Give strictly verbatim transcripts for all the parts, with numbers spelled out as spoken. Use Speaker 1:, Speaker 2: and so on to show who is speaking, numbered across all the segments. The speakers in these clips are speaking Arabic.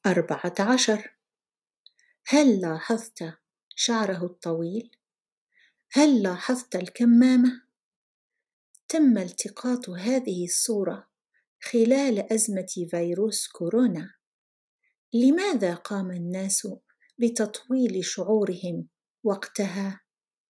Speaker 1: أربعة عشر. هل لاحظت شعره الطويل؟ هل لاحظت الكمامة؟ تم التقاط هذه الصورة خلال أزمة فيروس كورونا. لماذا قام الناس بتطويل شعورهم وقتها؟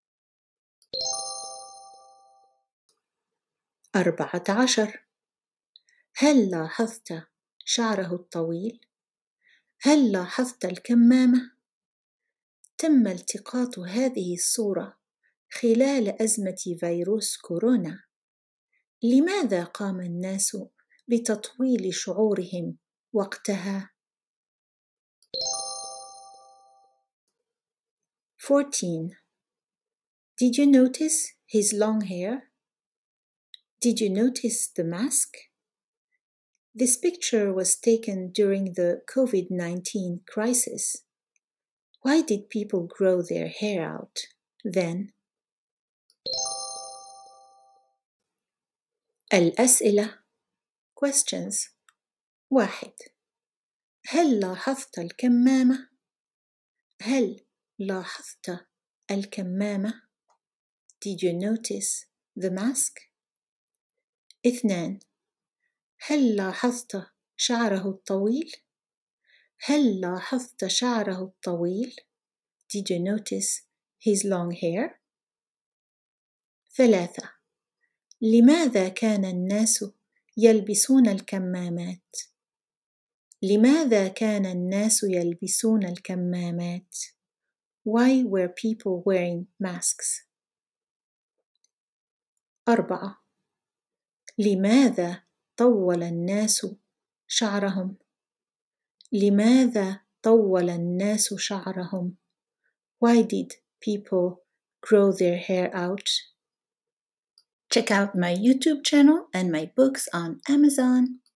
Speaker 1: أربعة عشر. هل لاحظت شعره الطويل؟ هل لاحظت الكمامة؟ تم التقاط هذه الصورة خلال أزمة فيروس كورونا. لماذا قام الناس بتطويل شعورهم وقتها؟ fourteen. Did you notice his long hair? Did you notice the mask? This picture was taken during the COVID nineteen crisis. Why did people grow their hair out then? الأسئلة questions. واحد. هل لاحظت الكمامة؟ هل لاحظت الكمامة؟ Did you notice the mask? اثنان. هل لاحظت شعره الطويل؟ هل لاحظت شعره الطويل؟ Did you notice his long hair? ثلاثة. لماذا كان الناس يلبسون الكمامات؟ لماذا كان الناس يلبسون الكمامات؟ Why were people wearing masks? أربعة. لماذا طول الناس شعرهم؟ لماذا طول الناس شعرهم؟ Why did people grow their hair out? Check out my YouTube channel and my books on Amazon.